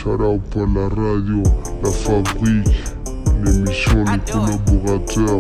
Shout out pour la radio, la fabrique, l'émission, les collaborateurs.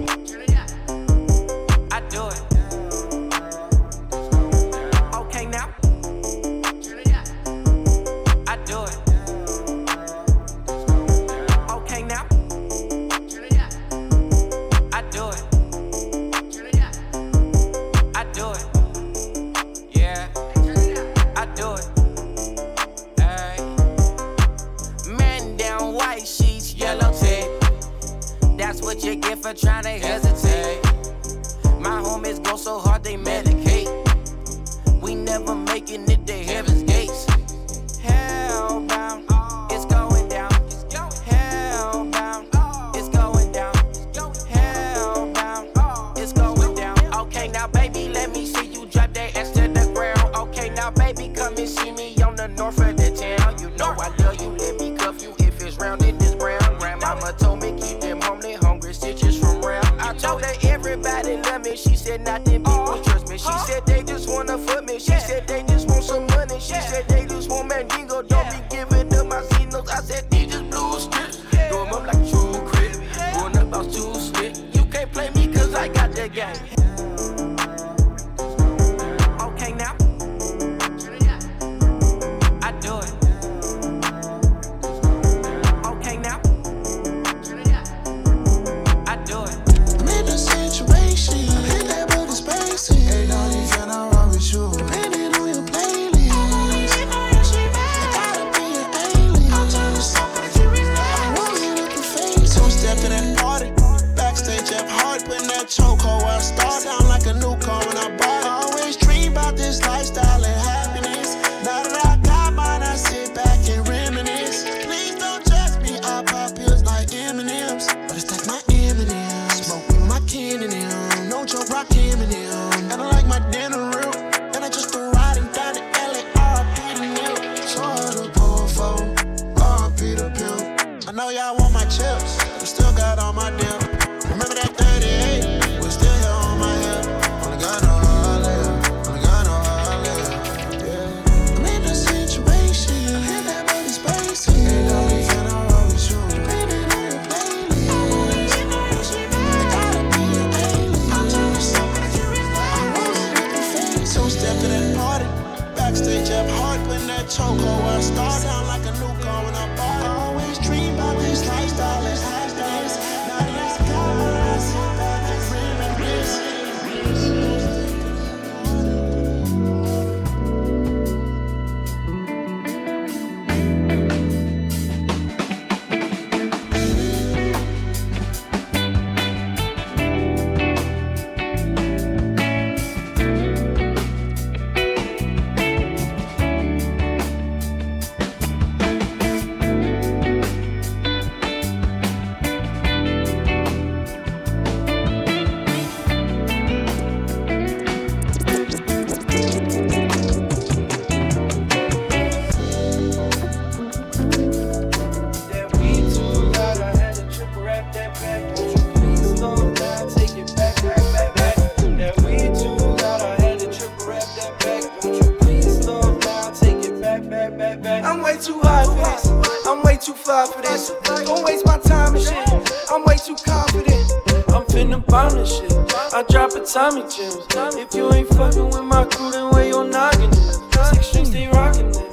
Tommy Jims. If you ain't fucking with my crew, then where your noggin is? 6 strings, stay rockin' it.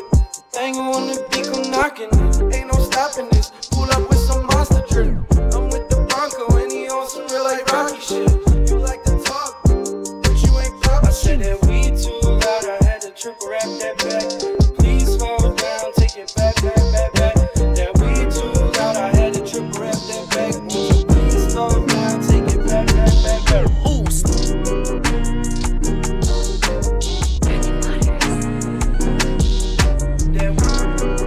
Thing on the beat, come knockin' it. Ain't no stopping this. Pull up with some monster drip. I'm with the Bronco and he on some real like Rocky shit. You like to talk, but you ain't pop. I said that weed too loud, I had to triple rap that back. Please slow down, take it back, back, back, back. That weed too loud, I had to triple rap that back. Please slow down, take it back, back, back, back. That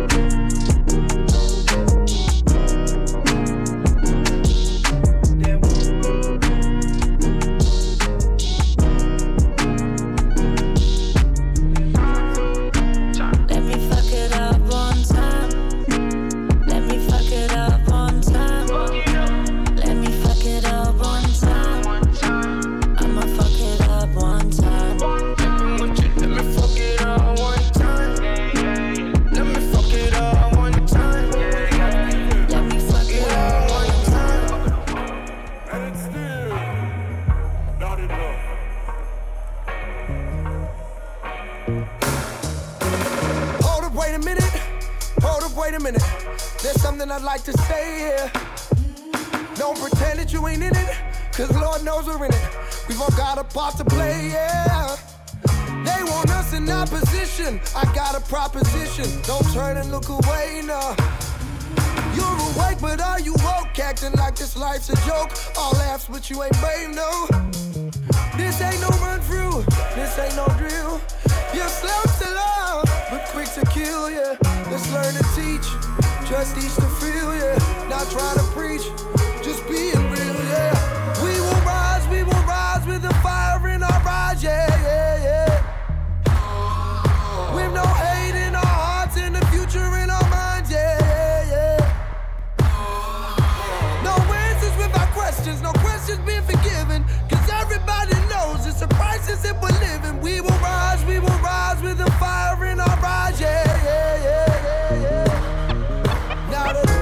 Hold up, wait a minute. There's something I'd like to say here. Don't pretend that you ain't in it, cause Lord knows we're in it. We've all got a part to play, yeah. They want us in opposition. I got a proposition. Don't turn and look away, nah. You're awake, but are you woke? Acting like this life's a joke. All laughs, but you ain't brave, no. This ain't no run through. This ain't no drill. You're slow to love, but quick to kill, yeah. Let's learn to teach. Just teach to feel, yeah. Not trying to preach, just being real, yeah. We will rise with the fire in our eyes, yeah, yeah, yeah. With no hate in our hearts and the future in our minds, yeah, yeah, yeah. No answers without questions, no questions being forgiven. Cause everybody knows it's a crisis that we're living. We will rise with the fire in our eyes, yeah, yeah, yeah, yeah, yeah. Now that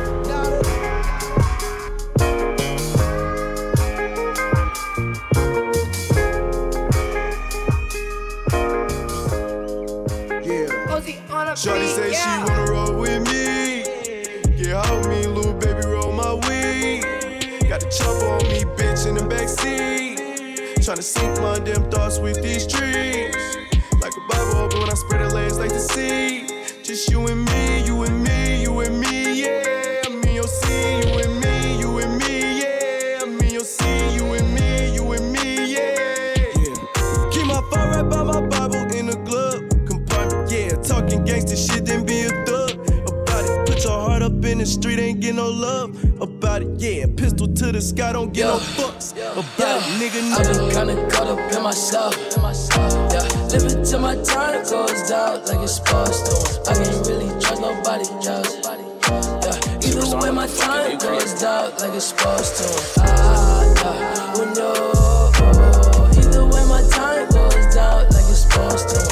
Shorty say she wanna roll with me. Get out me, little baby, roll my weed. Got the chopper on me, bitch, in the backseat. Tryna sink my damn thoughts with these trees. Like a Bible open when I spread her legs like the sea. Just you and me, you and me, you and me, yeah. I'm in your sea, you and me, yeah. I'm in your sea, you and me, yeah. Keep my phone right by my Bible in the glove. Talking gangsta shit, then be a thug about it. Put your heart up in the street, ain't get no love about it. Yeah, pistol to the sky, don't get no fucks about it, nigga. I've been kinda caught up in myself. Yeah, living till my time goes down like it's supposed to. I can't really trust nobody else. Yeah, even when my time goes down like it's supposed to. Oh no. Either way my time goes down like it's supposed to.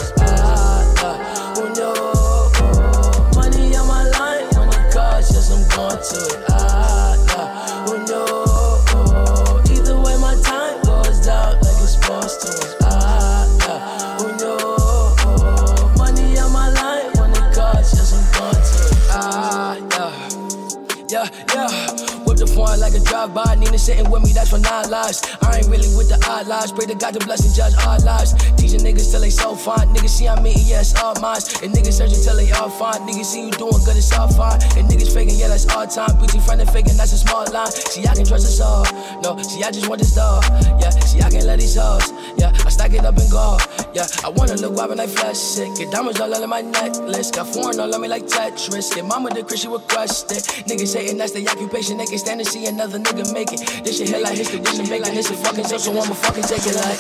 To it. Oh no. Either way my time goes down like it's supposed to. Oh no. Money on my line when it costs, yes I'm going to it. Yeah. Whip the phone like a drive-by. Nina sitting with me, that's for 9 lives. I ain't really with the odd lives. Pray to God to bless and judge our lives. Teaching niggas till they so fine. Niggas see I'm eating, yeah, it's all mine. And niggas searching till they all fine. Niggas see you doing good, it's all fine. And niggas faking, yeah, that's all time. Beauty friend and faking, that's a small line. See, I can trust us all. No, see, I just want this dog. Yeah, see, I can't let these hoes. Yeah, I stack it up and go. Yeah, I wanna look wild when I flash it. Get diamonds all over my necklace. Got foreign all on me like Tetris. Get mama the Christian request it. Niggas saying that's the occupation. They can stand and see another nigga make it. This shit hit like history. This shit make like this shit fucking joke. So I'ma fucking take it like.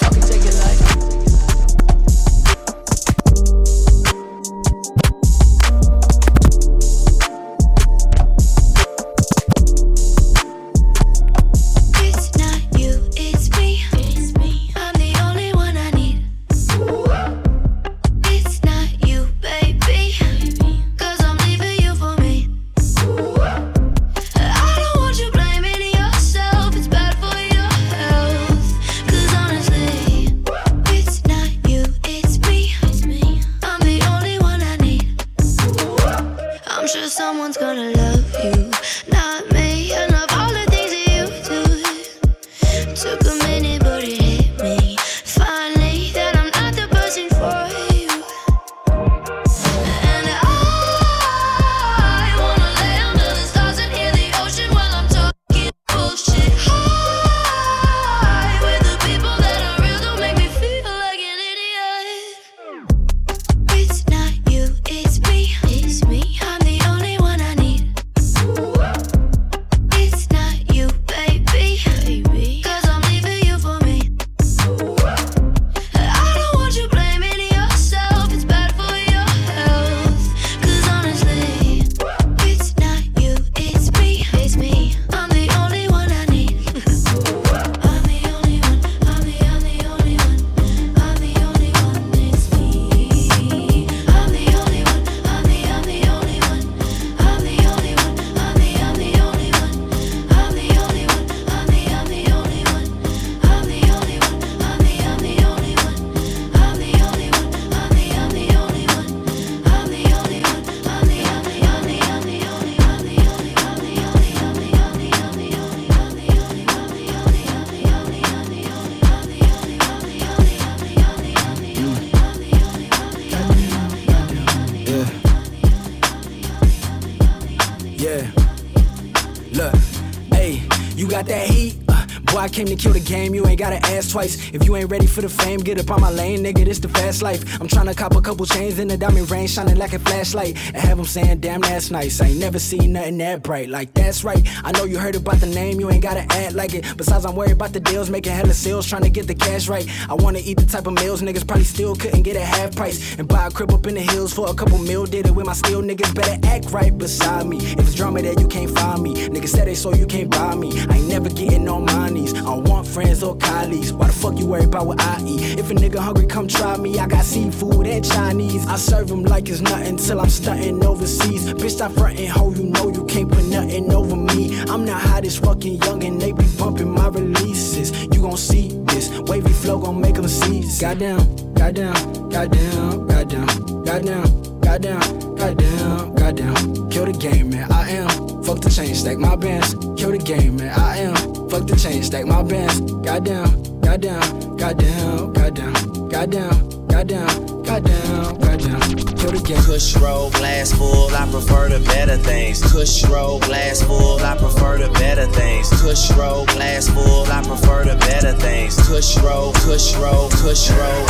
Yeah. Look, hey, you got that heat? Boy, I came to kill the game, you ain't gotta ask twice. If you ain't ready for the fame, get up on my lane, nigga, this the fast life. I'm tryna cop a couple chains in the diamond ring, shining like a flashlight. And have them saying, damn, that's nice. I ain't never seen nothing that bright. Like, that's right, I know you heard about the name, you ain't gotta act like it. Besides, I'm worried about the deals, making hella sales, tryna get the cash right. I wanna eat the type of meals niggas probably still couldn't get at half price. And buy a crib up in the hills for a couple mil, did it with my steel, niggas better act right beside me. If it's drama there, you can't find me. Niggas said they so you can't buy me. I ain't never getting on my knees. I don't want friends or colleagues. Why the fuck you worry about what I eat? If a nigga hungry, come try me. I got seafood and Chinese. I serve him like it's nothing till I'm stunting overseas. Bitch, stop frontin', ho, you know you can't put nothing over me. I'm the hottest fucking young and they be bumping my releases. You gon' see this wavy flow gon' make them seize. Goddamn, goddamn, goddamn, goddamn, goddamn, goddamn, goddamn, goddamn. Kill the game, man, I am. Fuck the chain, stack my bands. Kill the game, man, I am. Fuck the chain, stack my bands. Goddamn, goddamn, goddamn, goddamn, goddamn, goddamn, goddamn, goddamn. Kill the game. Kush roll, glass full, I prefer the better things. Kush roll, glass full, I prefer the better things. Kush roll, glass full, I prefer the better things. Kush roll, kush roll, kush roll.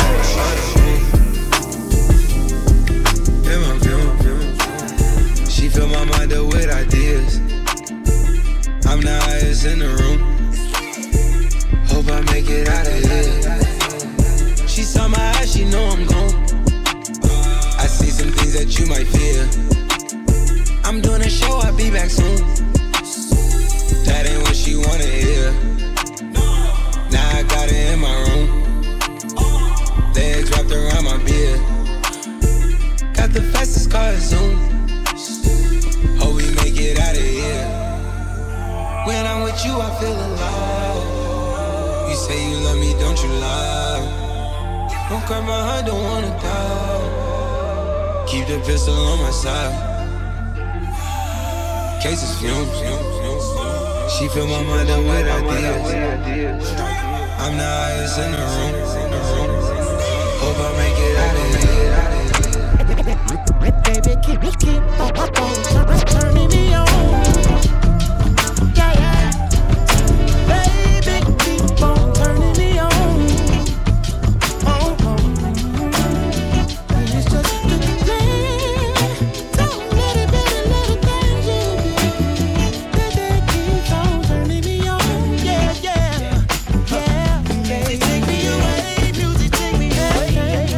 She fill my mind up with ideas. I'm the highest in the room. Hope I make it out of here. She saw my eyes, she know I'm gone. I see some things that you might fear. I'm doing a show, I'll be back soon. That ain't what she wanna hear. Now I got it in my room. Legs wrapped around my beard. Got the fastest car, Zoom. Hope we make it out of here. When I'm with you, I feel alive. You say you love me, don't you lie? Don't cry my heart, don't wanna die. Keep the pistol on my side. Cases fumes. She fill my mind up with ideas. I'm the highest in the room. Hope I make it out of here. Baby, keep on turning me on. Yeah, yeah. Baby, keep on turning me on. It's just the thing. So many little things you do that keep on turning me on. Yeah, yeah, yeah. Music take me away. Music take me away.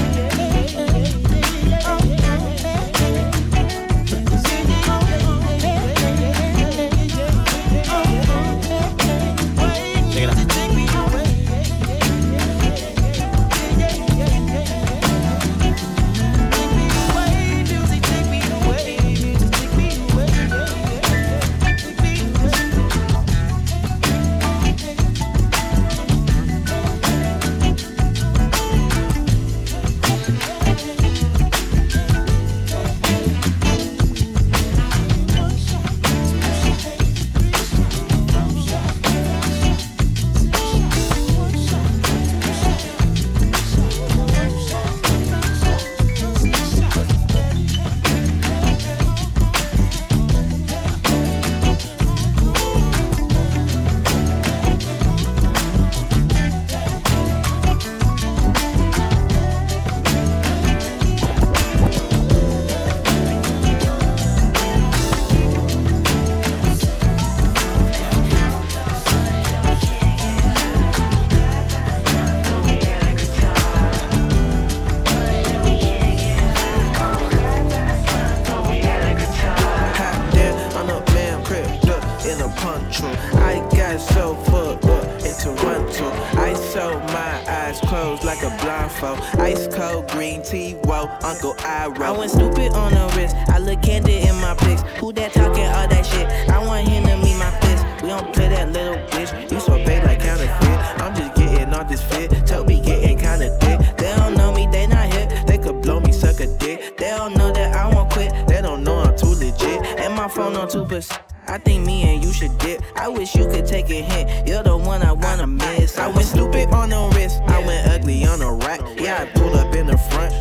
Ice cold green tea, whoa, Uncle Iroh. I went stupid on the wrist, I look candid in my pics. Who that talking all that shit? I want him to meet my fist. We don't play that little bitch. You so big like counterfeit. I'm just getting all this fit. Toby getting kinda thick. They don't know me, they not hip. They could blow me, suck a dick. They don't know that I won't quit. They don't know I'm too legit. And my phone on 2%. I think me and you should dip. I wish you could take a hint. You're the one I wanna miss. I went stupid on the wrist. I went ugly on the rack. Yeah, I pulled up in the front, sitting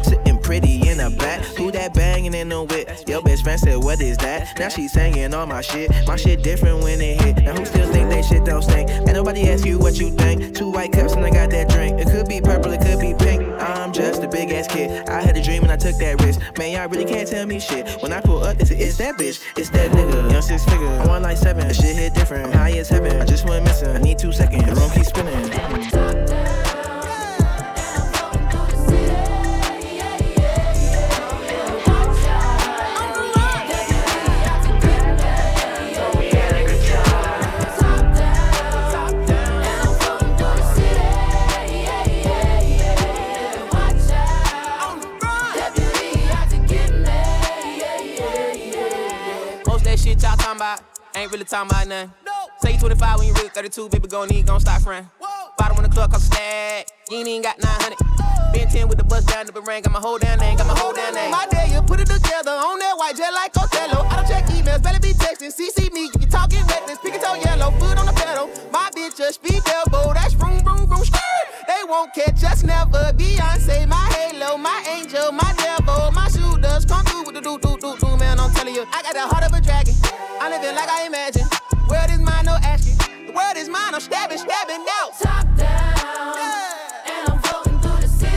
pretty in the back. Who that banging in the whip? Your best friend said, what is that? Now she singing all my shit. My shit different when it hit. Now who still think they shit don't stink? Ain't nobody ask you what you think. 2 white cups and I got that drink. It could be purple, it could be pink. I'm just a big ass kid. I had a dream and I took that risk. Man, y'all really can't tell me shit. When I pull up, it's that bitch. It's that nigga. Young 6 figure. I want like 7. The shit hit different. High as heaven. I just went missing. I need 2 seconds. The room keeps spinning. Ain't really talking about nothing. No. Say you 25 when you really 32, baby, gon' stop frontin'. Bottom on the club, cost a stack. You ain't even got 900. Been 10 with the bus down the ring, got my whole damn name, My day, you put it together on that white jet like Costello. I don't check emails, better be texting. CC me, you talking reckless, pick it on yellow, foot on the pedal. My bitch just speed elbow, that's vroom, vroom, vroom, skirt. They won't catch us never. Beyonce, my halo, my angel, my devil, my shooters come through with the do, man, I'm telling you. I got the heart of a dragon. I'm living like I imagine. World is mine, no asking. The world is mine, I'm stabbing out. Top down, and I'm floating through the city.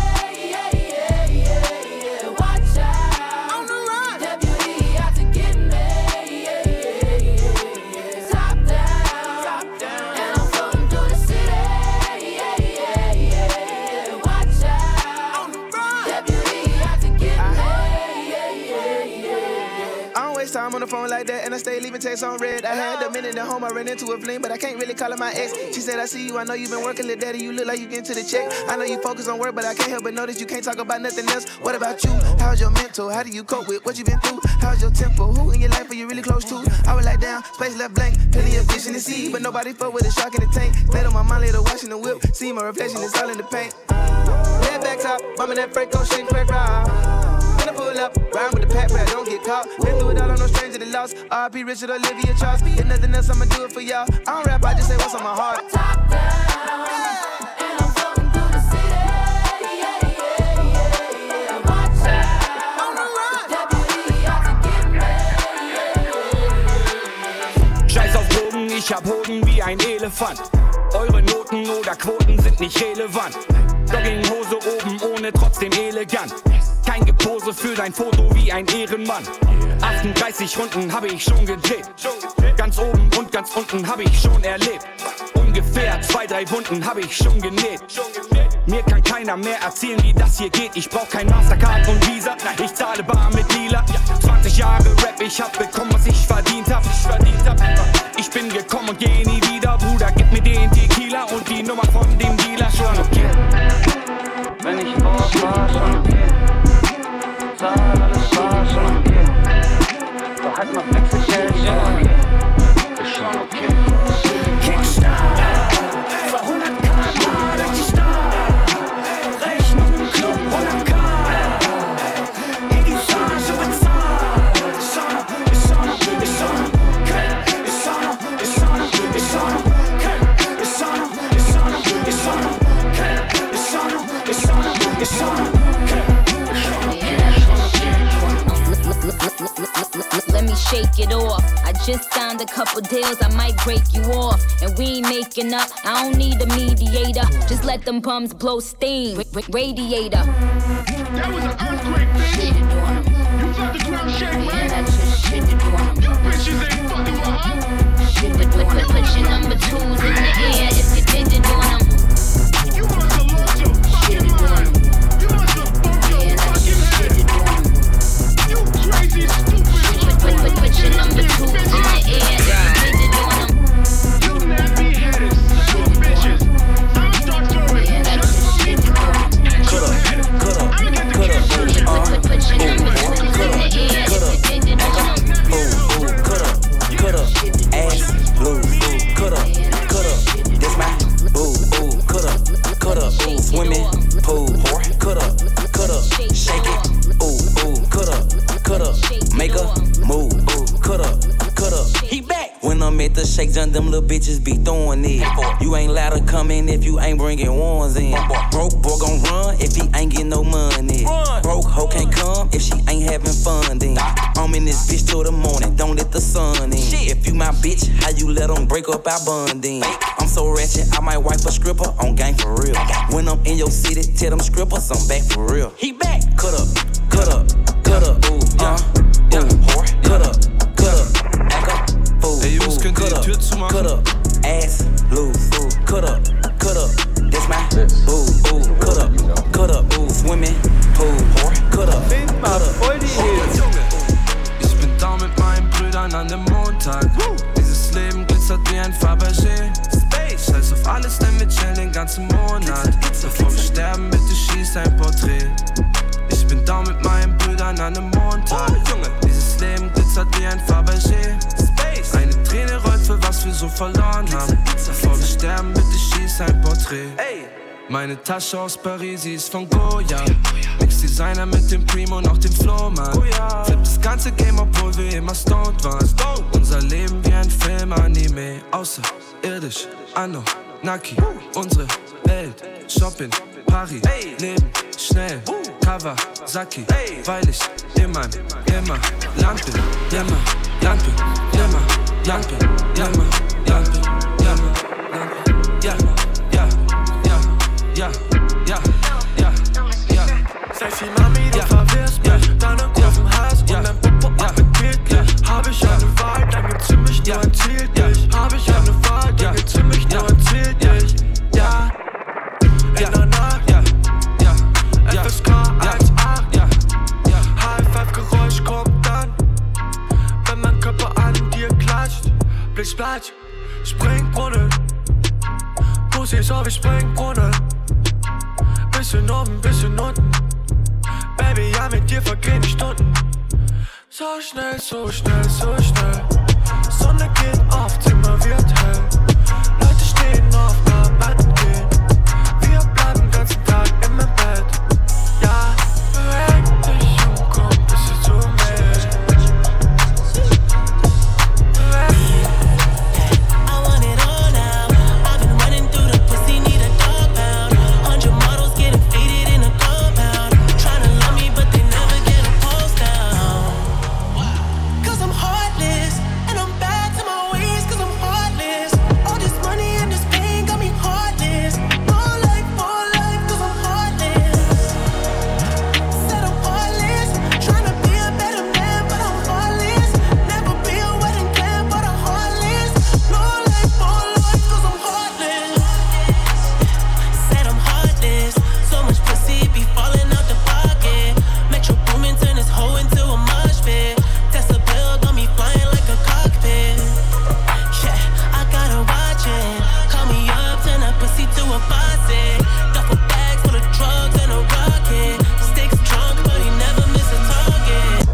Watch out, on the run. Deputy out to get me. Top down, and I'm floating through the city. Watch out, on the run. Deputy out to get me. I don't waste time on the phone like that, and I stay leaving texts on red. I had a minute at home, I ran into a fling, but I can't really call her my ex. She said, I see you, I know you been working, little daddy, you look like you getting to the check. I know you focus on work, but I can't help but notice you can't talk about nothing else. What about you? How's your mental? How do you cope with what you been through? How's your tempo? Who in your life are you really close to? I was like, down, space left blank, plenty of fish in the sea, but nobody fuck with a shark in the tank. Stayed on my mind later, washing the whip, see my reflection, it's all in the paint. Head back top, bumming that Franco shit, crack ride. When I pull up, ride with the pack, but I don't get caught. Been through it all, I'm no stranger to loss. R.I.P. Richard, Olivia Charles. If nothing else, I'ma do it for y'all. I don't rap, I just say what's on my heart. Top down, and I'm floating through the city. Watch out, On the run. Deputy out to get me. Scheiß auf Drogen, ich hab Hoden wie ein Elefant. Eure Noten oder Quoten sind nicht relevant. Jogginghose oben ohne, trotzdem elegant. Kein Gepose für dein Foto wie ein Ehrenmann. 38 Runden habe ich schon gedreht. Ganz oben und ganz unten habe ich schon erlebt. Ungefähr 2, 3 Wunden habe ich schon genäht. Mir kann keiner mehr erzählen, wie das hier geht. Ich brauch kein Mastercard und Visa, ich zahle bar mit Dealer. 20 Jahre Rap, ich hab bekommen, was ich verdient hab. Ich bin gekommen und geh nie wieder. Bruder, gib mir den Tequila und die Nummer von dem Dealer. Schon okay. Wenn ich Bock war, schon okay. Zahl, alles war schon okay. Doch halt mal Wechselgeld, schon okay. Ist schon okay. Kickstart, für 100k durch die Stadt. Rechnung im Club 100k. Equipage bezahlt. Ist schon okay. Ist schon okay. Ist schon okay. Ist schon okay. Ist schon okay. Ist schon okay. Ist schon okay. Ist schon okay. Ist schon okay. Ist schon okay. Ist schon okay. Let me shake it off. I just signed a couple deals, I might break you off. And we ain't making up, I don't need a mediator. Just let them bums blow steam. Radiator. That was an earthquake, bitch. You felt the ground shake, right? You bitches ain't fucking with her. Put your number 2s in the air if you did it on them. You must have lost your fucking mind. You must have bumped your fucking head. You crazy, stupid. Put your number 2s in the air if you did it on them. You nappy-headed son of bitches. I'ma start throwing just for me, bro. I'ma get the kids version. Put your number 2s in the air if you did it on them. Ass loose, coulda, this my coulda, swimming pool, coulda, shake it, coulda, make a move, coulda, he back. When I'm at the shake, done them little bitches be throwing it. You ain't allowed to come in if you ain't bringing ones in. Broke boy gon' run if he ain't getting no money. Broke hoe can't come if she ain't having fun then. I'm in this bitch till the morning, don't let the sun in. If you my bitch, how you let them break up our bonding? I'm so ratchet, I might wipe a stripper on gang for real. When I'm in your city, tell them strippers I'm back for real. He back. Cut up, cut up, cut up, ooh, yeah, whore. Cut up, act up, fool, cut up, cut up, ass loose, cut up, that's my ooh, cut up, ooh, swimming pool, whore. Cut up, voll die Hits. Ich bin da mit meinen Brüdern an dem Montag. Dieses Leben glitzert wie ein Fabergé. Scheiß auf alles, denn wir chillen den ganzen Monat. Bevor wir sterben, bitte schieß ein Porträt. Ich bin da mit meinen Brüdern an einem Montag. Dieses Leben glitzert wie ein Fabergé. Eine Träne rollt für was wir so verloren haben. Bevor wir sterben, bitte schieß ein Porträt. Meine Tasche aus Paris, sie ist von Goya. Mix Designer mit dem Primo und auch dem Flohmann. Flip das ganze Game, obwohl wir immer stoned waren. Unser Leben wie ein Film-Anime. Außerirdisch, Anno, Naki, unsere Welt. Shopping, Paris, Leben, schnell, Kawasaki. Weil ich immer Land bin, Land bin, Sei viel Mami, du verwirrst mich. Deine Kurven heiß und dein Popo appetitlich. Hab ich eine Wahl, dann gibt's für mich nur ein Ziel dich. Hab ich eine Wahl, dann gibt's für mich nur ein Ziel dich. Ja, in der Nacht, FSK 1,8. High-Five-Geräusch kommt dann, wenn mein Körper an dir klatscht. Blitzblatsch, Springbrunnen. Pussy ist auf wie Springbrunnen. Bisschen oben, bisschen unten. Baby, ja, mit dir vergehen die Stunden. So schnell, so schnell, so schnell. Sonne geht auf, Zimmer wird hell. Leute stehen auf, arbeiten gehen. Wir bleiben den ganzen Tag in meinem Bett. Ja, beweg dich und komm bisschen zu mir. I want it all now. I've been running through the pussy, need a dog pound. 100 models getting faded in a compound. Tryna love me, but they never get a post down. Cause I'm heartless, and I'm back to my ways, cause I'm heartless. All this money and this pain got me heartless. More life, cause I'm heartless. Said I'm heartless, tryna be a better man, but I'm heartless. Never be a wedding plan, but I'm heartless. No life, cause I'm heartless. Said I'm heartless, so much pussy be falling out the pocket. Metro Boomin turn this hoe into a mosh pit. Tesla bill got me flying like a cockpit. Yeah, I gotta watch it. Call me up, turn that pussy to a faucet. Duffel bags full of drugs and a rocket. Sticks drunk, but he never miss a target.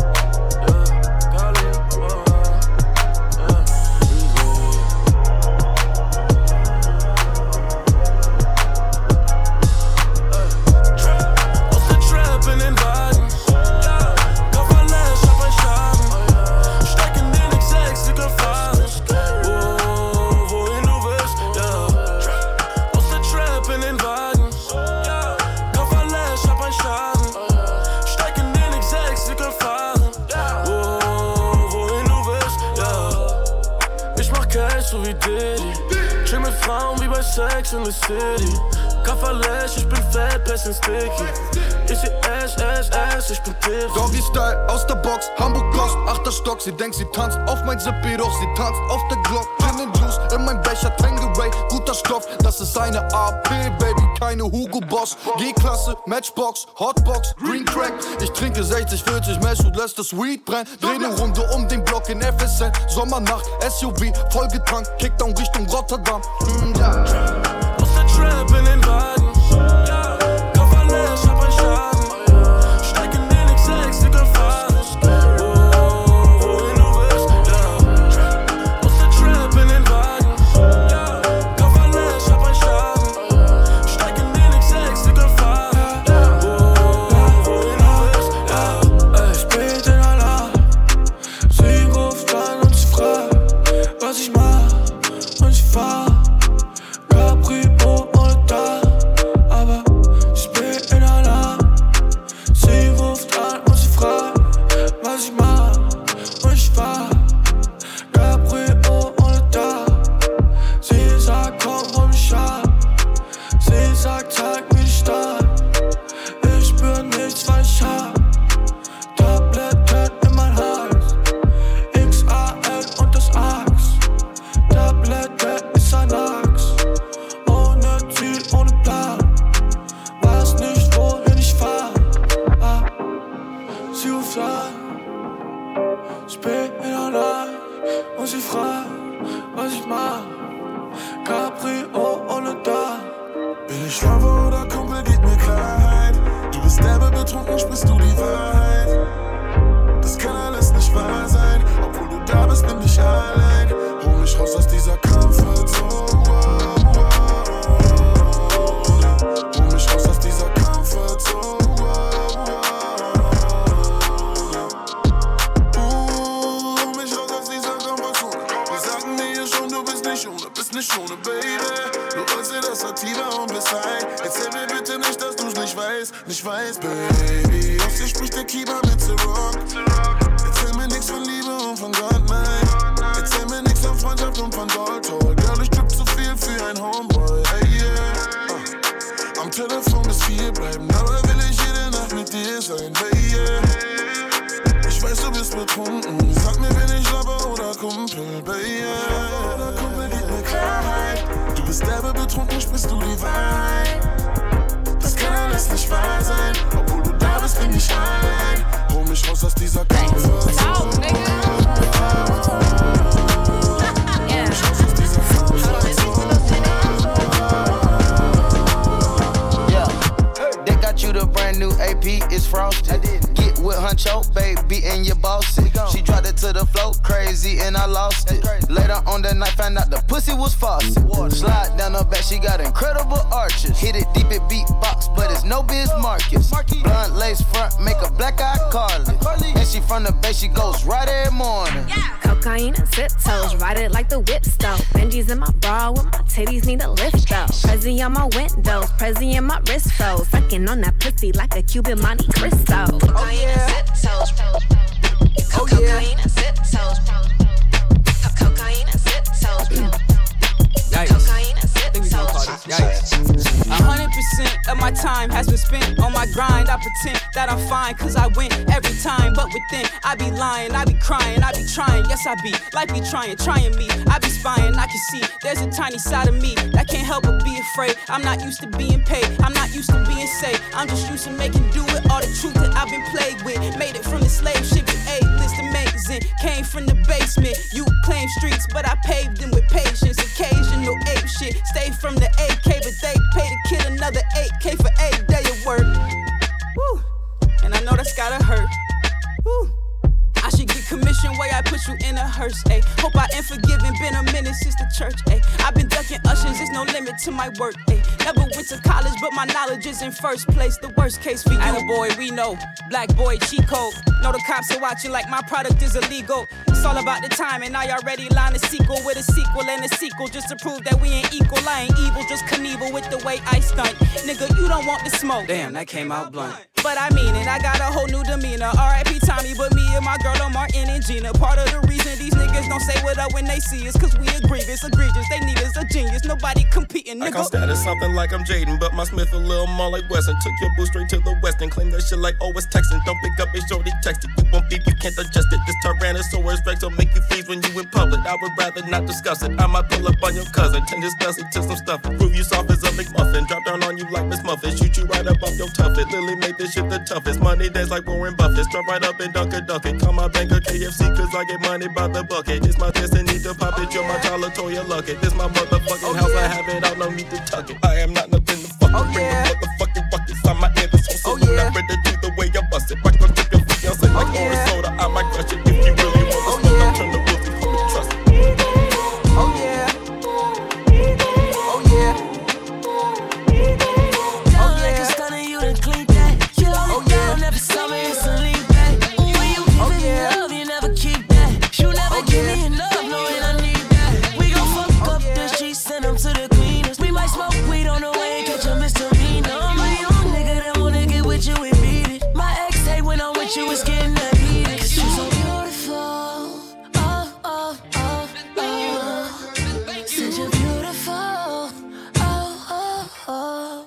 Aus der Trap in den Wagen. Kofferlash auf ein Schaden. Steig in den X6, wir können fahren. Wohin du willst, ja. Aus der Trap in den Wagen. Kofferlash auf ein Schaden. Steig in den X6, wir können fahren. Wohin du willst, ja. Ich mach Cash so wie Diddy. Chill mit Frauen wie bei Sex in the City. Kofferlash, ich bin fett, bisschen sticky. Ich seh ich bin tipsy. Doggy-Style aus der Box, Hamburg Gloss, 8. Stock. Sie denkt, sie tanzt auf mein Zippy, doch sie tanzt auf der Glock. Gin and Juice in mein Becher, Tangeray, guter Stoff. Das ist eine AP, Baby, keine Hugo Boss. G-Klasse, Matchbox, Hotbox, Green Crack. Ich trinke 60, 40 Mesh und lässt das Weed brennen. Dreh ne Runde um den Block in FSN. Sommernacht, SUV, vollgetankt, Kickdown Richtung Rotterdam. Ja. Aus der Trap in den Wagen. Kofferlash auf ein Schaden. Steig in den X6, wir können fahren. Wohin du willst, ja. Aus der Trap in den Wagen. Kofferlash auf ein Schaden. Steig in den X6, wir können fahren. Wohin du willst, ja. Spät in der Nacht. Sie ruft an und sie fragt, bist nicht ohne Baby. Du wolltest dir das Sativa und bis ein. Erzähl mir bitte nicht, dass du's nicht weißt, Baby. Aus dir spricht der Keeper mit The Rock. Erzähl mir nix von Liebe und von Gott, nein. Erzähl mir nix von Freundschaft und von Gold. Girl, ich drück zu viel für ein Homeboy, hey yeah. Am Telefon bis 4 bleiben, aber will ich jede Nacht mit dir sein, baby. Ich weiß, du bist betrunken, sag mir, bin ich Lover oder Kumpel, baby. Oder Kumpel, gib mir Klarheit. Du bist derbe betrunken, sprichst du die Wahrheit. Das kann alles nicht wahr sein, obwohl du da bist, bin ich allein. Hol mich raus aus dieser Konversation. You the brand new AP, it's frosted. Get with Huncho, baby, and your boss it. She dropped it to the floor, crazy, and I lost it. Later on the night, found out the pussy was faucet. Slide down her back, she got incredible arches. Hit it deep at beatbox, but it's no Biz Marcus. Blunt lace front, make a black eye Carly. And she from the bay, she goes right every morning. Cocaine and sip toes, ride it like the whip stove. Benji's in my bra with my titties need a lift though. Prezi on my windows, Prezi in my wrist froze. Sucking on that pussy like a Cuban Monte Cristo. Oh yeah. Cocaine and sip toes. Cocaine and sip toes. Cocaine and sip toes. Yikes. 100% of my time has been spent on my grind. I pretend that I'm fine, cause I win every time. But within, I be lying, I be crying, I be trying. Yes, I be, like me trying me. I be spying, I can see there's a tiny side of me that can't help but be afraid. I'm not used to being paid, I'm not used to being safe. I'm just used to making do with all the truth that I've been plagued with. Made it from the slave ship to A-list amazing. Came from the basement, you claim streets, but I paved them with patience. Occasional ape shit, stay from the AK, but they pay to kill another 8K for 8 day of work. Woo. And I know that's gotta hurt. Woo. I should get commission way I put you in a hearse, ayy. Hope I am forgiven, been a minute since the church, ayy. I've been ducking ushers, there's no limit to my work, ayy. Never went to college, but my knowledge is in first place. The worst case for you. I'm a boy, we know. Black boy, cheat code. Know the cops are watching like my product is illegal. It's all about the time, and I already lined a sequel with a sequel and a sequel just to prove that we ain't equal. I ain't evil, just Knievel with the way I stunt. Nigga, you don't want the smoke. Damn, that came out blunt. But I mean it, I got a whole new demeanor. R.I.P. Tommy, but me and my girl are Martin and Gina. Part of the reason these niggas don't say what up when they see us, cause we egregious. They need us a genius, nobody competing, nigga. I can't status something like I'm Jaden, but my Smith a little more like Wesson. Took your boo straight to the west and claim that shit like, oh, it's Texan. Don't pick up his shorty texted. You won't beef, you can't digest it. This Tyrannosaurus Rex will make you freeze when you in public. I would rather not discuss it. I might pull up on your cousin, turn this dusty to some stuff. Prove you soft as a McMuffin. Drop down on you like Miss Muffin. Shoot you right up off your tuffet. Lily made this shit the toughest. Money days like Warren Buffett. Drop right up and dunk it. Call my banker KFC cause I get money by the bucket. It's my destiny to pop it. You're my child, Latoya Luckett. This my motherfucking house. I have it all, no need to tuck it. I am not nothing to fucking bring the motherfucking buckets on my head. So I'm ready to do the way I bust it. Rock gon' trip your fiance like orange soda. I might crush it if you really want to smoke. Don't turn the wheels, you hold me, trust it. Oh yeah. Oh yeah. Oh yeah. Like a stunner, you done clean that. You hold it down every summer, it's a lean back. When you give me love, you never keep that. You never give me enough, knowing I need that. We gon' fuck up the streets, send them to the cleaners. We might smoke weed on the way and catch a misdemeanor. I'm a young nigga that wanna get with you and beat it. My ex hate when I'm with you, it's getting that heated. Cause you so beautiful. Oh, oh, oh, oh. Said you're beautiful. Oh, oh, oh.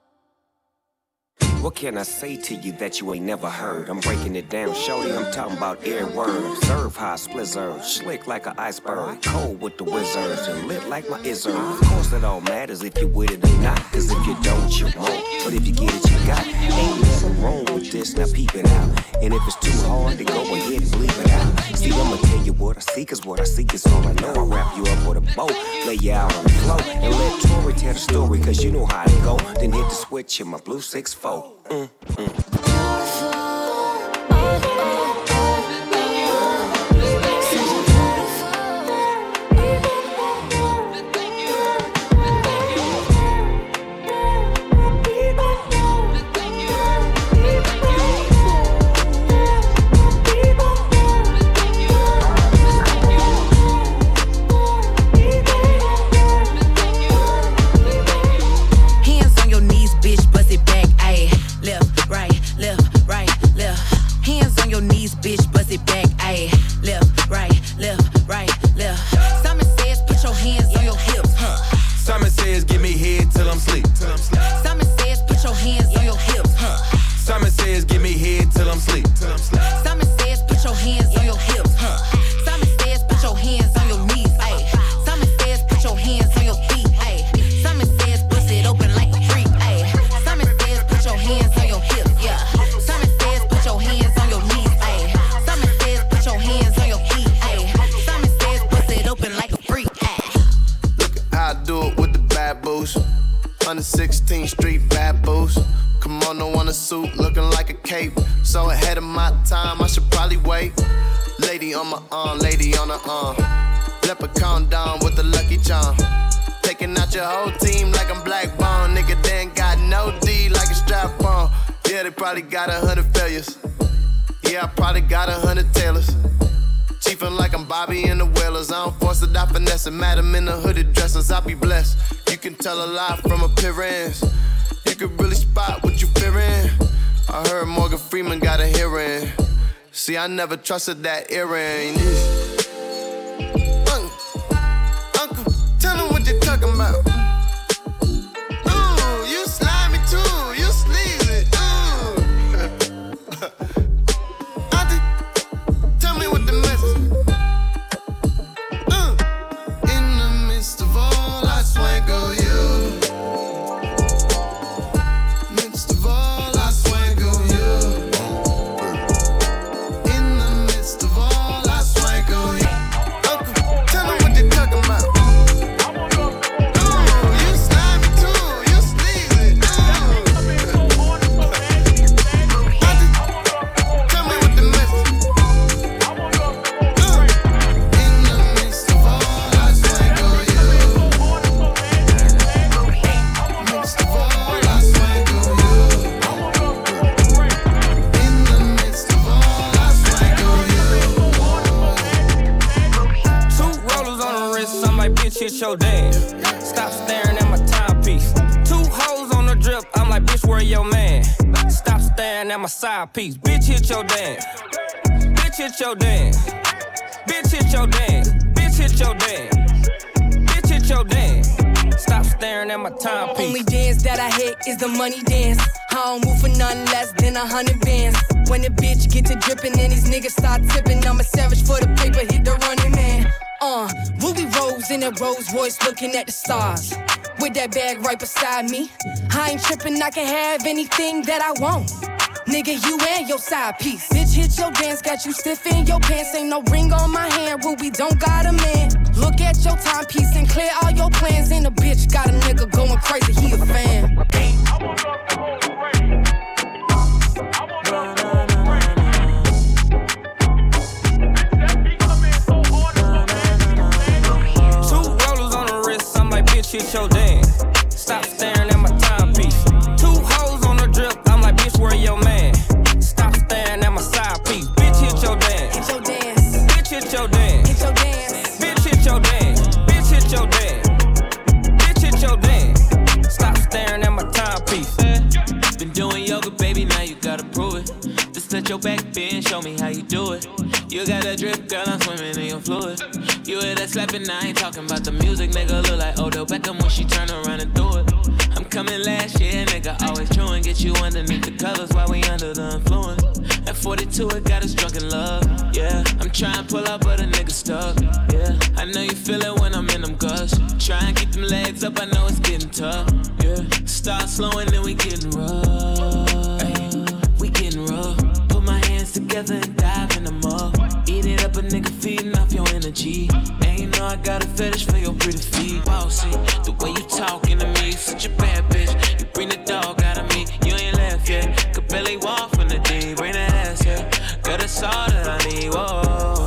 What can I say to you that you ain't never heard? I'm breaking it down, shorty, I'm talking about every word. Observe how I splizzard, slick like an iceberg. Cold with the wizards and lit like my izzard. Of course it all matters if you with it or not. Cause if you don't, you won't. But if you get it, you got. Ain't nothing wrong with this, now peep it out. And if it's too hard, then go ahead and bleep it out. See, I'ma tell you what I see, cause what I see is all I know. I wrap you up with a bow, lay you out on the floor, and let Tori tell the story, cause you know how to go. Then hit the switch in my blue 6-4. 16th Street bad boost. Kimono on a suit, looking like a cape. So ahead of my time, I should probably wait. Lady on my arm, lady on her arm. Leprechaun down with the lucky charm. Taking out your whole team like I'm Black Bond. Nigga, they ain't got no D like a strap on. Yeah, they probably got 100 failures. Yeah, I probably got 100 tailors. Chiefin' like I'm Bobby and the Whalers. I don't force it, I finesse it. Madam in the hooded dresses, I be blessed. You can tell a lot from appearance. You can really spot what you fearing. I heard Morgan Freeman got a hearing. See, I never trusted that earring. Uncle, tell him what you talking about. Ooh, you slimy too, you sleazy. Auntie, tell me what the message. In the midst of all, I swango you. Midst of all, I swango you. In the midst of all, I swango you. Uncle, tell him what you talking about. You slimy too, you sleazy. Tell me what the message. In the midst of all, I swango you. Midst of all, I swango you. In the midst of all, I swango you. Two rollers on the wrist, I'm like, bitch, hit your dance. Stop staring at my timepiece. Two hoes on the drip, I'm like, bitch, where your man? Stop staring at my side piece. Bitch, hit your dance. Bitch, hit your dance. Bitch, hit your dance. Bitch, hit your dance. Bitch, hit your dance. Stop staring at my timepiece. Only dance that I hit is the money dance. I don't move for nothing less than 100 bands. When the bitch get to dripping and these niggas start tipping, I'm a savage for the paper, hit the running man. Ruby Rose in a Rolls Royce looking at the stars. With that bag right beside me. I ain't tripping, I can have anything that I want. Nigga, you and your side piece. Bitch, hit your dance, got you stiff in your pants. Ain't no ring on my hand, Ruby don't got a man. Look at your timepiece and clear all your plans. And a bitch got a nigga going crazy, he a fan. Two rollers on the wrist, I'm like, bitch, hit your dance. Stop staring at my timepiece. Two hoes on the drip, I'm like, bitch, where your man? Stop staring at my side piece. Bitch, hit your dance. Hit your dance. Bitch, hit your dance. Hit your dance. Bitch, hit your dance. Bitch, hit your dance. Bitch, hit your dance. Stop staring at my timepiece. Been doing yoga, baby, now you gotta prove it. Just touch your back, bend, show me how you do it. You got a drip, girl, I'm swimming in your fluid. You hear that slapping, I ain't talking about the music, nigga. Look like Odell Beckham when she turn around and do it. I'm coming last year, nigga, always true and get you underneath the covers while we under the influence. At 42, it got us drunk in love, yeah. I'm trying to pull up, but a nigga stuck, yeah. I know you feel it when I'm in them gusts. Try and keep them legs up, I know it's getting tough, yeah. Start slowing, then we getting rough, ay, we getting rough. Put my hands together and dive in the mud. Eat it up, a nigga feeding off your energy. And you know I got a fetish for your pretty feet. Wow, see, the way you talking to me, such a bad bitch. You bring the dog out of me, you ain't left yet. Could barely walk from the D, bring that ass here. Girl, that's all that I need, whoa.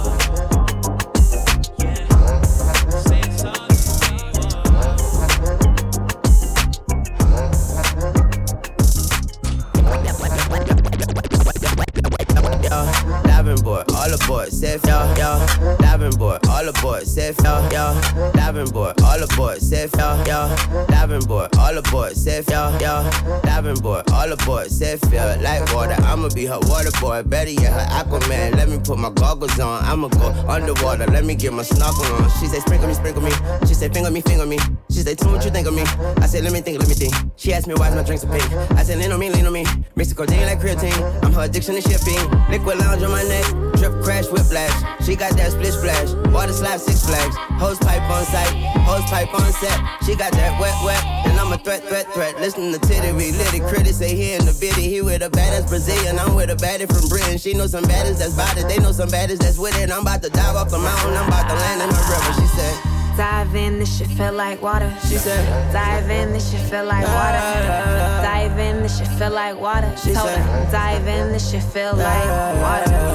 Diving board, all aboard, safe, yo, yo. Diving board, all aboard, safe, yo, yo. Diving board, all aboard, safe, yo, yo. Diving board, all aboard, safe, yo, yo. Diving board, all aboard, safe, feel like water. I'ma be her water boy, better yet her Aquaman. Let me put my goggles on, I'ma go underwater. Let me get my snorkel on. She say sprinkle me, sprinkle me. She say finger me, finger me. She say tell me what you think of me. I say let me think, let me think. She asked me why's my drinks so pink. I said lean on me, lean on me. Mix the codeine like creatine. I'm her addiction to shipping. Liquid lounge on my neck, drip crash whiplash. She got that split splash, water slap 6 flags. Hose pipe on site, hose pipe on set. She got that wet, and I'm a threat. Listen to Titty, we litty critics say he in the bitty. He with a badass Brazilian, I'm with a baddie from Britain. She know some baddies that's bodies, they know some baddies that's with it. I'm about to dive off the mountain, I'm about to land in my river. She said, Dive in, this shit feel like water. She said, dive in, this shit feel like water. Dive in, this shit feel like water. She told her, dive in, this shit feel like water.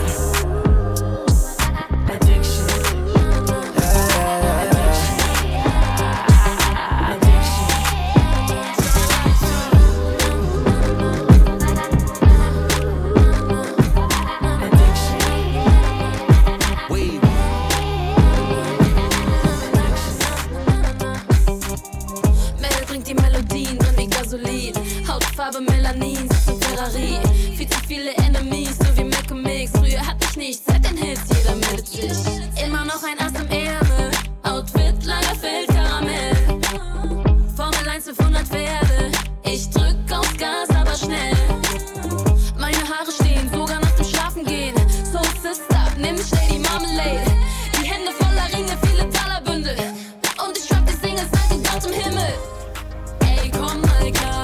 Hautfarbe Melanin, sitzt im Ferrari. Viel zu viele Enemies, so wie Mac und Mix. Früher hatte ich nichts, seit den Hits, jeder meldet sich. Immer noch ein Ass im Ärmel, Outfit, Lagerfeld, Karamell. Formel 1, 500 Pferde, ich drück aufs Gas, aber schnell. Meine Haare stehen, sogar nach dem Schlafen gehen. So Sister, nimm schnell die Marmelade. Die Hände voller Ringe, viele Talerbündel. Und ich drop die Singles, seit den Gott im Himmel. Ey, komm mal klar.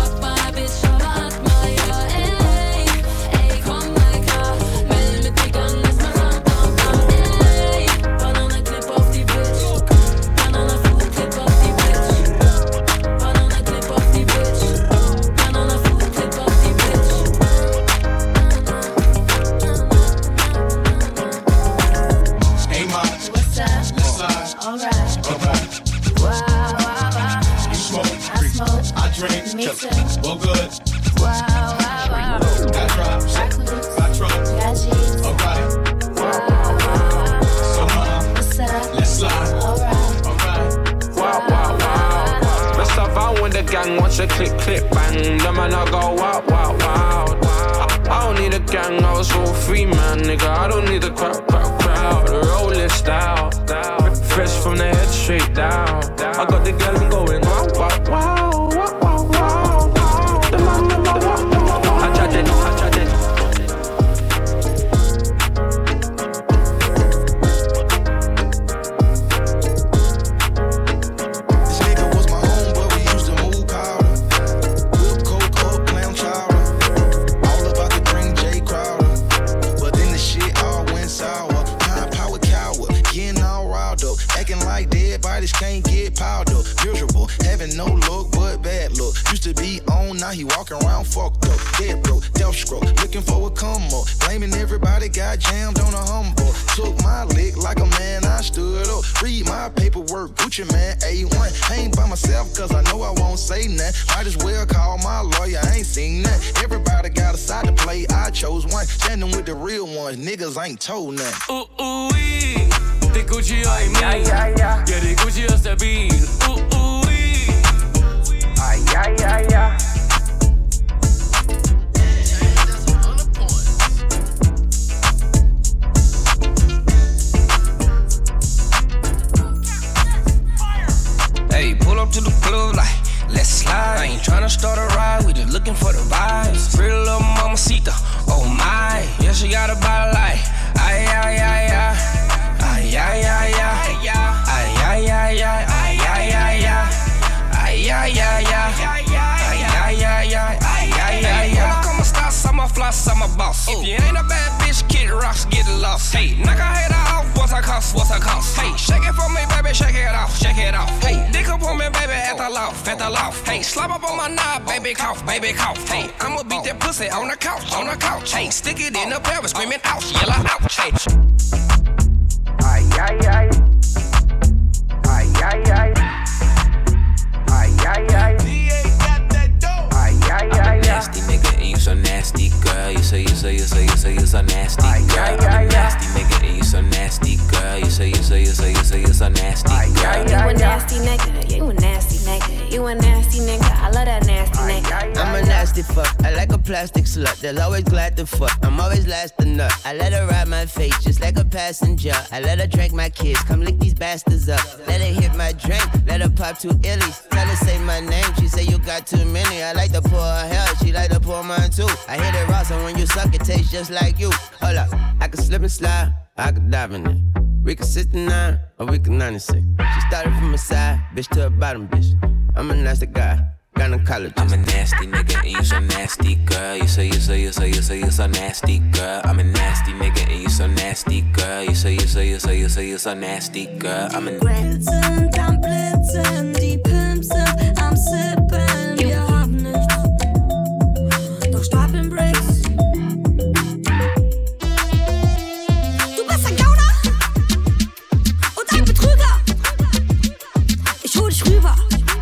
Me too. Well, good. Wow, wow, wow. Got drops. Got trucks. Got G's. Alright. So, what's up? Let's slide. Alright. Wow, wow, wow. Best of all when the gang wants a click, click, bang. The man I go wow, wow, wow. I don't need a gang, I was so free, man, nigga. I don't need a crowd. Rolling style. Fresh from the head straight down. I got the girl going wow, wow, wow. Can't get piled up, miserable, having no look but bad look. Used to be on, now he walking around fucked up, dead broke, death stroke, looking for a come up, blaming everybody, got jammed on a humble. Took my lick like a man, I stood up, read my paperwork, Gucci man, A1. I ain't by myself cause I know I won't say nothing. Might as well call my lawyer, I ain't seen nothing. Everybody got a side to play, I chose one, standing with the real ones, niggas ain't told nothing. Ooh, ooh, wee. Det Gucci og i min. Ja, det Gucci og stabil. Hey, pull up to the club like, let's slide. I ain't tryna start a ride, we just looking for the vibes. Pretty little mamacita, oh my. Yeah, she got a body like, ay, ay, ay, ay. Ay, ay, ay, ay, ay, ay, ay, ay, ay, ay, ay, ay, ay, ay, ay, ay, come stars, I'm a floss, I'm a boss. If you ain't a bad bitch, Kid Rocks, get lost. Hey, knock her head off, what's her cost, what's her cost? Hey, shake it for me, baby, shake it off, shake it off. Hey, dick up on me, baby, at the loft, at the loft. Hey, slap up on my knob, baby, cough, baby, cough. Hey, I'ma beat that pussy on the couch, on the couch. Hey, stick it in the pelvis, screaming ouch, yell ouch. Hey. Ay, ay, ay. Ay, ay, ay. Ay, ay, ay. Ay, ay, ay. Nasty nigga, and you so nasty, girl. You say, you so nasty, girl. I'm a nasty nigga, and you so nasty, girl. You say, you so nasty, girl. You a nasty nigga, you a nasty nigga. You a nasty nigga, I love that nasty nigga. I'm a nasty fuck, I like a plastic slut. They're always glad to fuck, I'm always last to nut. I let her ride my face just like a passenger. I let her drink my kids, come lick these bastards up. Let her hit my drink, let her pop 2 illies. Tell her say my name, she say you got too many. I like to pour her hair, she like to pour mine too. I hit it raw, so when you suck it tastes just like you. Hold up, I can slip and slide, I can dive in it. We can 69 or we can 96. She started from a side, bitch to a bottom bitch. I'm a nasty guy, Gynecology. I'm a nasty nigga and you so nasty, girl. You so nasty, girl. I'm a nasty nigga and you so nasty, girl. You so nasty, girl. I'm a Blitzen, dann blitzen, die Pimps sind am Sippen. Wir haben nichts, doch stapeln Bricks. Du bist ein Gauner und ein Betrüger. Ich hol dich rüber.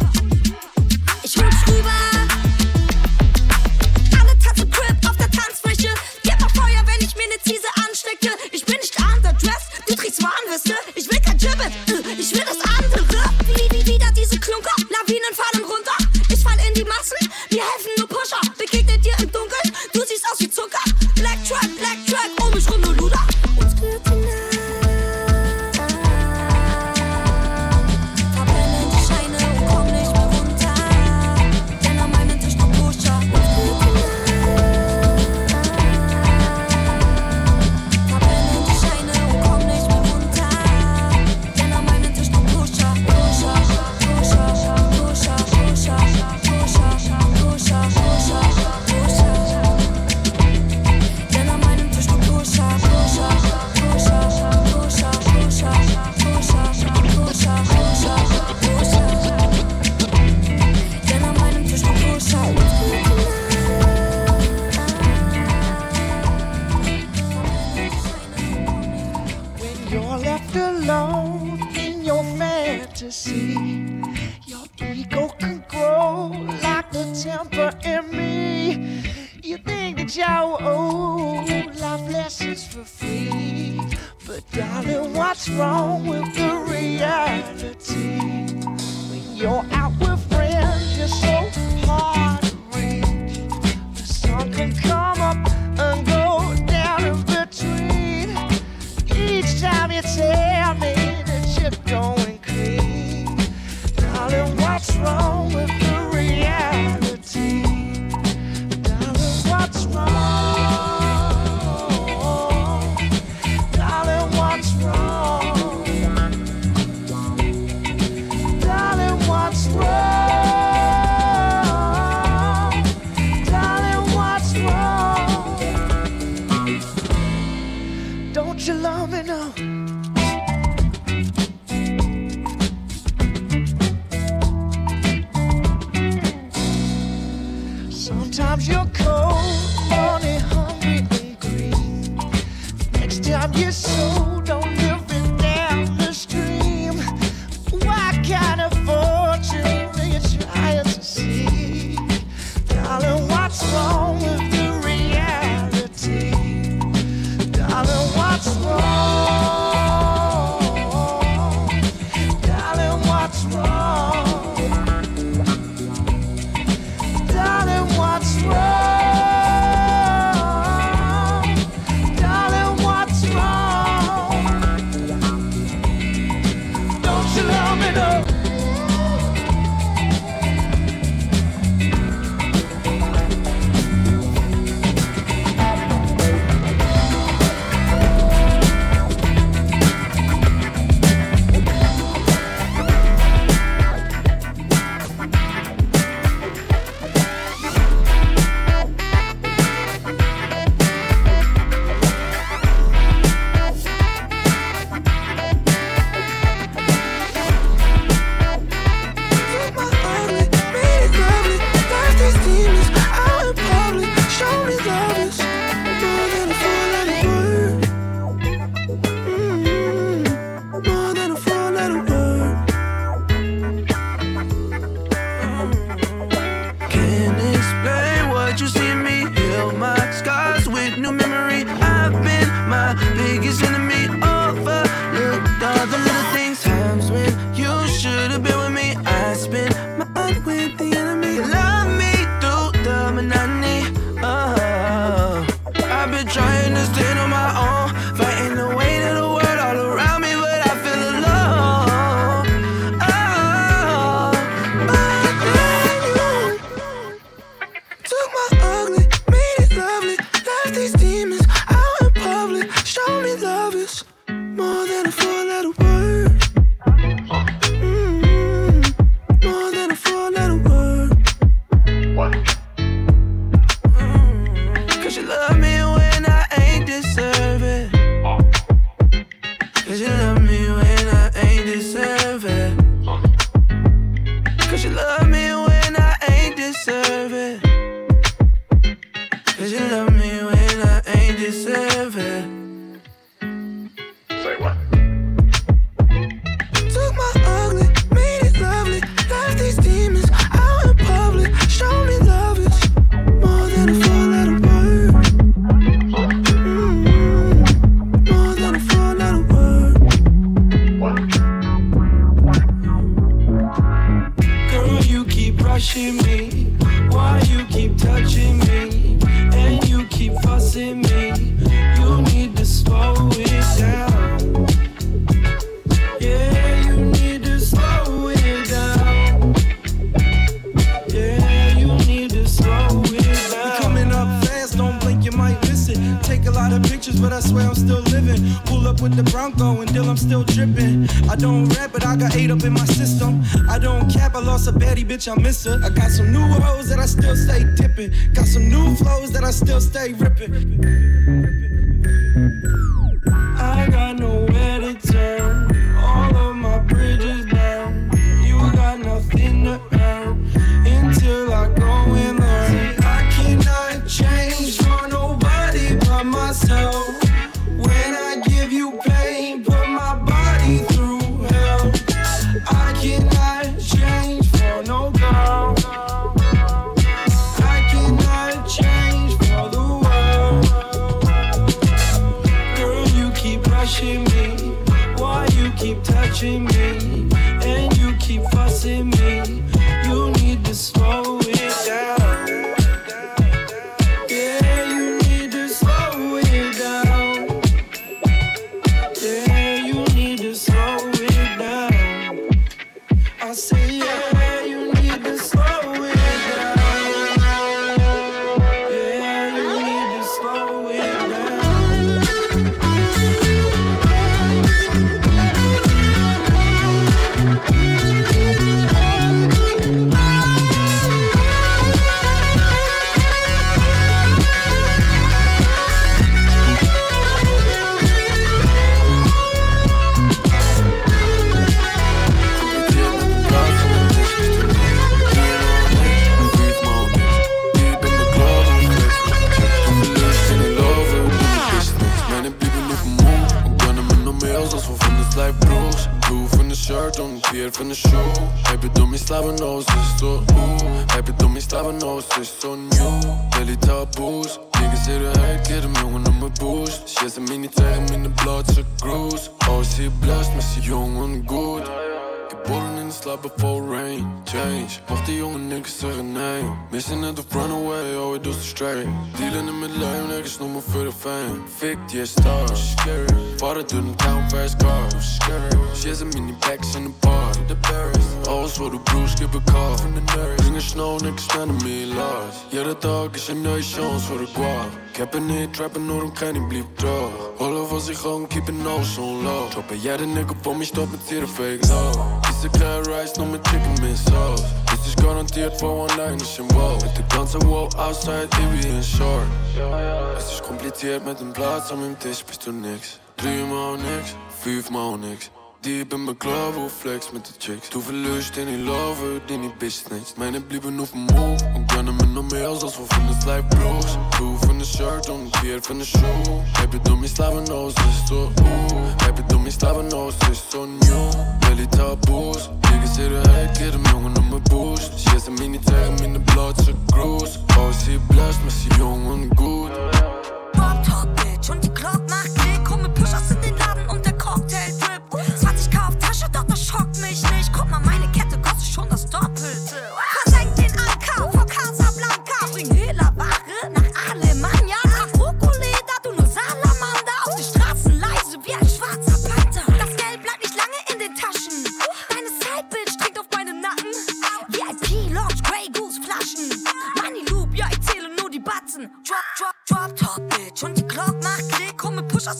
Alle tanzen Crip auf der Tanzfläche. Gib mal Feuer, wenn ich mir ne Ziese anstecke. Ich bin nicht underdressed, du trägst Warnweste. Ich will kein Gibbet, ich will das andere. Wieder diese Klunker, Lawinen fallen runter. Ich fall in die Massen, mir helfen nur Pusher. Begegnet dir im Dunkeln, du siehst aus wie Zucker. Black Track, um mich rum nur Luder. Uns gehört die Nacht. Verbrennen die Scheine und komm nicht mehr runter. Denn an meinem Tisch noch Pusher. Uns gehört die Nacht. Verbrennen die Scheine und komm nicht mehr runter. Denn an meinem Tisch noch Pusher. Denn an meinem Tisch noch Pusher. Denn an meinem Tisch noch Pusher. When you're left alone in your fantasy, your ego can grow like the temper in me. You think that you owe life lessons for free, but darling, what's wrong with the reality? When you're out with friends, you're so hard to reach. The sun can come up and go down in between. Each time you tell me that you're going clean, darling, what's wrong with the reality? Darling, what's wrong? Darling, what's wrong? Darling, what's wrong? love me when I ain't deserve it. Cause you love me when I ain't deserve it. Cause you love me when I ain't deserve it. Say what? Took my ugly, made it lovely. Left these demons out in public. Show me love is more than a four-letter word. More than a four-letter word. Girl, you keep rushing me. Why you keep touching me? And you keep fussing me. You need to slow it down. Yeah, you need to slow it down. Yeah, you need to slow it down. You coming up fast, don't blink, you might miss it. Take a lot of pictures, but I swear I'm still living. Pull up with the Bronco and Dill, I'm still dripping. I don't rap, but I got 8 up in my system. I don't cap, I lost a baddie, bitch, I miss her. I got some new hoes that I still stay tipping. Got some new flows that I still stay ripping. I got nowhere to turn. All of my bridges down. You got nothing to earn until I go and learn. See, I cannot change for nobody but myself. When I give you pain, put my body through hell. I cannot change for no girl. I cannot change for the world. Girl, you keep rushing me. Why you keep touching me? And you keep fussing me. You need to slow it down. Yeah, you need to slow it down. Yeah, you need to slow it down. I say, yeah, you need to slow it down. Yeah, you need to slow it down. Keer van de show. Heb je door mijn slaven is zo Heb je door mijn slaven is zo nieuw. Belly taboes. Niggas say the hate, get hem jongen op mijn boost. She ze me niet tegen me in de bloedse cruise. Oh, ze blast, maar ze jongen goed. Geboren in de slaap before rain. Change, mocht die jonge niggas zeggen nee. Missing at the runaway, oh it does straight. Dealing met lame niggas, noem me voor de fame. Fik die stars, scary. Vader doet een town fast car, scary. She has a mini packs in the bar, the Paris. Alles voor de broers, skip a car. From the nurse, bring a snow, niggas spending me lost. Yeah, dat dog is een nieuwe chance voor de guap. Ik heb er niet trappen, nur een kleine blieb droog. Rollen was ik gewoon, keep it no so low. Droppen jij de nigga voor me, stop met zero fake low. Is de klein rice, nog met chicken min sauce. Dit is garandeerd voor one night, is een wow. Met de ganze wow, outside, baby in short. Het is compliceerd met een plaats, aan mijn tisch, best doe niks. 3 maal niks, 5 maal niks. Diep in mijn club, hoe flex met de chicks. Toe veel lust in die lover, die niet business. Mijne blieben op move, ik ben er met nog meer als we van de slijp bros. Doe van de shirt, om een keer van de show. Heb je door mijn slaven is zo Heb je door mijn slaven is zo nieuw. Belly taboes, niggas say the hate, get hem jongen op mijn boost. She ze me niet tegen me in de bloedse cruise. Oh, ze blast, maar ze jongen goed. Bob Talk Bitch und die Glock macht Klick. Krumme Pushers in den Laden und der Cocktail Drip. 20k auf Tasche, doch das schockt mich nicht. Guck mal, meine Kette kostet schon das Doppelte. Versenk den Anker vor Casablanca. Bring Hehlerware nach Alemania. Trag Brokkoli-Leder, du nur Salamander. Auf die Straßen leise wie ein schwarzer Panther. Das Geld bleibt nicht lange in den Taschen. Deine Side-Bitch trinkt auf meinen Nacken. VIP, Lounge, Grey Goose Flaschen. Money Loop, ja, ich zähle nur die Batzen. Drop Talk Bitch und die Glock macht Klick. Krumme Pushers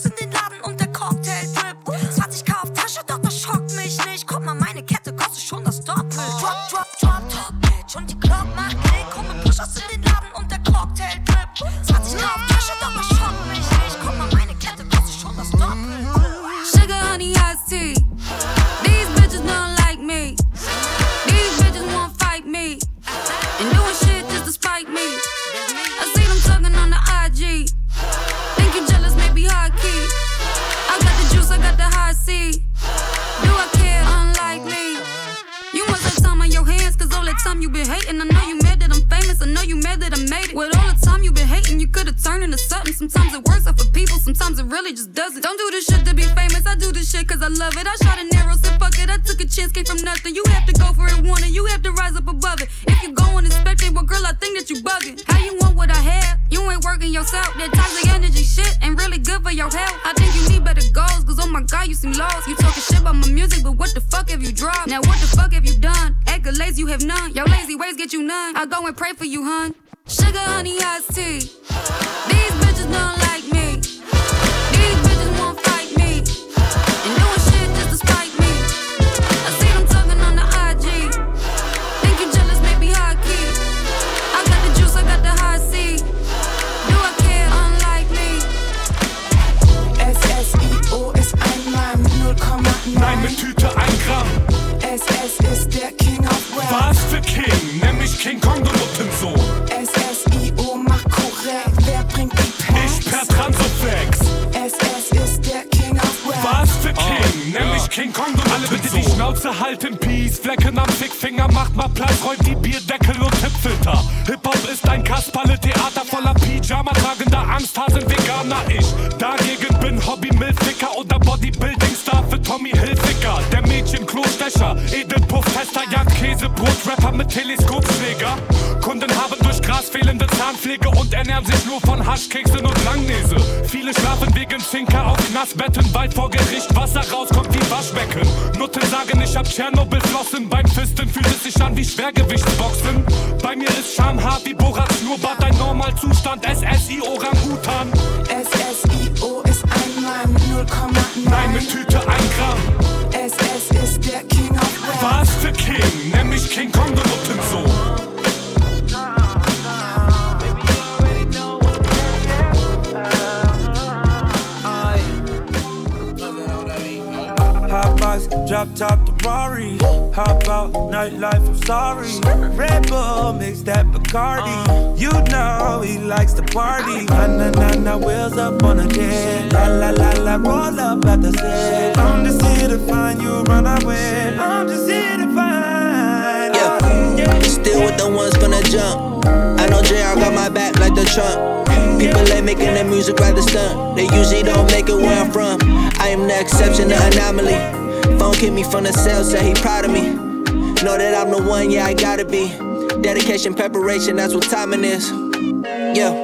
time you been hating. I know you mad that I'm famous, I know you mad that I made it. With all the time you been hating, you could've turned into something. Sometimes it works out for people, sometimes it really just doesn't. Don't do this shit to be famous, I do this shit cause I love it. I shot an arrow, said fuck it, I took a chance, came from nothing. You have to go for it, want it, you have to rise up above it. If you go unexpected, well girl, I think that you bugging. How you want what I have? You ain't working yourself. That toxic energy shit ain't really good for your health. I think you need better goals, cause oh my god, you seem lost. You talking shit about my music, but what the fuck have you dropped? Now what the fuck have you done? Accolades you have none. Your lazy ways get you none. I go and pray for you, hun. Sugar, honey, iced tea. These bitches don't like me. These bitches won't fight me. And doing shit just to spite me. I see them talking on the IG. Think you jealous, maybe high key. I got the juice, I got the high C. Do I care, unlike me? SSIO ist ein Mann, 0,9. Nein, mit Tüte 1 Gramm. SS ist der King of Rap. Was für King? Nämlich King Kong, du Nuttensohn. SSIO macht korrekt, wer bringt die Packs? Ich per Transoflex. SS ist der King of Rap. Was für King? Nämlich King Kong, du Alle bitte die Schnauze halten, Peace. Flecken am Fickfinger, macht mal Platz, räumt die Bierdeckel und Tippfilter. Hip-Hop ist ein Kasperle-Theater voller Pyjama tragender Angsthasen Veganer. Ich dagegen bin Hobby-Milficker oder Bodybuilding-Star für Tommy Hilfiger. Der Mädchen-Klostecher, Edelpuff-Tester, jagt Käsebrot-Rapper mit Teleskopschläger. Kunden haben durch Gras fehlende Zahnpflege und ernähren sich nur von Haschkeksen und Langnese. Viele schlafen wegen Zinker auf Knastbetten, weil vor Gericht Wasser rauskommt wie Waschbecken. Nutten sagen, ich hab Tschernobyl flossen. Beim Fisten fühlt es sich an wie Schwergewichtsboxen. Bei mir ist Schamhaar wie Borats Schnurrbart ein Normalzustand. SSI Orang-Utan. SSIO ist ein Mann, 0,9. Nein, mit Tüte 1 Gramm. SS ist der King of Rap. Was für King? Nämlich King Kong, du Nuttensohn. Hot box, drop top the Rari. Hop out, nightlife, I'm sorry. Red Bull, mix that Bacardi. You know he likes to party. Na wheels up on a jet. La roll up at the set. I'm just here to find you, run away. I'm just here to find Yeah, still with the ones gonna jump. I know JR got my back like the Trump. People ain't making their music rather stunt. They usually don't make it where I'm from. I am the exception, the anomaly. Phone hit me from the cell, said he proud of me. Know that I'm the one, yeah, I gotta be. Dedication, preparation, that's what timing is. Yeah,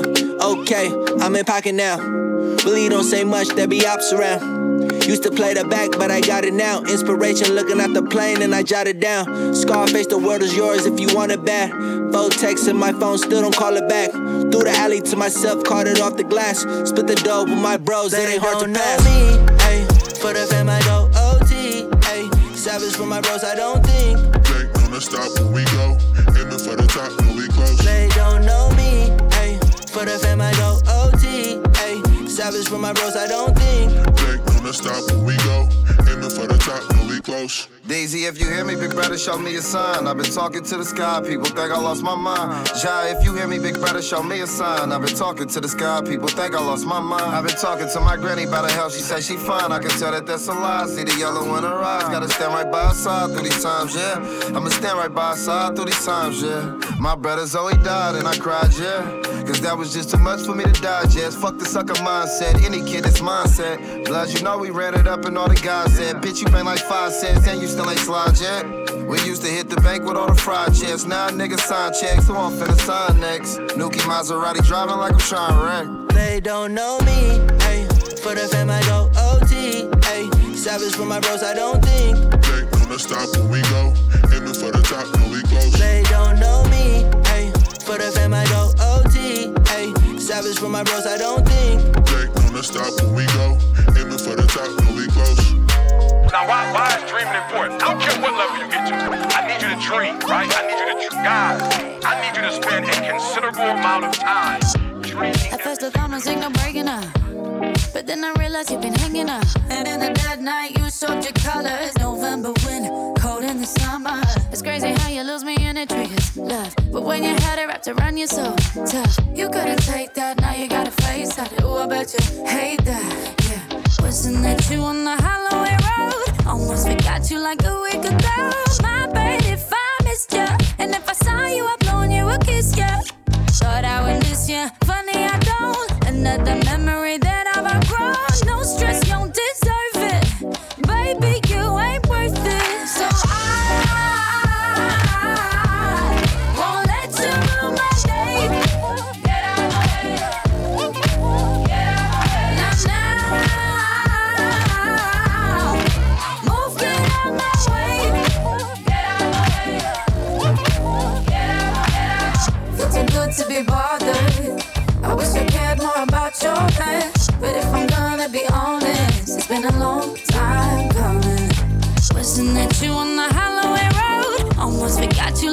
okay, I'm in pocket now. Really don't say much, there be ops around. Used to play the back, but I got it now. Inspiration looking at the plane and I jot it down. Scarface, the world is yours if you want it bad. Phone text in my phone, still don't call it back. Through the alley to myself, caught it off the glass. Split the dough with my bros, it ain't hard to pass. Me, ay, for the fam I go OT, ay. Savage for my bros, I don't think. They gonna stop when we go. Aiming for the top when we close. They don't know me, ay. For the fam I go OT, ay. Savage for my bros, I don't think. They gonna stop when we go. Aiming for the top when we close. Daisy, if you hear me, big brother, show me a sign. I've been talking to the sky, people think I lost my mind. Jai, if you hear me, big brother, show me a sign. I've been talking to the sky, people think I lost my mind. I've been talking to my granny about her health, she said she fine. I can tell that that's a lie, see the yellow in her eyes. Gotta stand right by her side through these times, yeah. I'ma stand right by her side through these times, yeah. My brother Zoe died and I cried, yeah. Cause that was just too much for me to digest. Fuck the sucker mindset, any kid that's mindset. Blood, you know we ran it up and all the guys said, bitch, you been like 5 cents and you still ain't slide yet. We used to hit the bank with all the fried checks. Now niggas sign checks, who I'm finna sign next? Nuki Maserati driving like I'm trying to wreck. They don't know me, ay. For the fam I go OT, ay. Savage for my bros, I don't think. They gonna stop when we go. Aiming for the top when we close. They don't know me, ay. For the fam I go OT, ay. Savage for my bros, I don't think. They gonna stop when we go. Aiming for the top when we close. Now, why is dreaming important? I don't care what level you get to. I need you to dream, right? I need you to, guys, I need you to spend a considerable amount of time dreaming. At first I thought no signal breaking up, but then I realized you've been hanging up. And in the dead night you showed your colors. November wind, cold in the summer. It's crazy how you lose me and it triggers love. But when you had it wrapped around you so tough, you couldn't take that, now you gotta face that. Ooh, I bet you hate that, yeah. Wishing that you on the Holloway Road. Almost forgot you like a week ago. My baby, if I missed you, and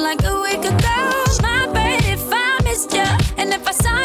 like a week ago. My bad if I missed you, and if I saw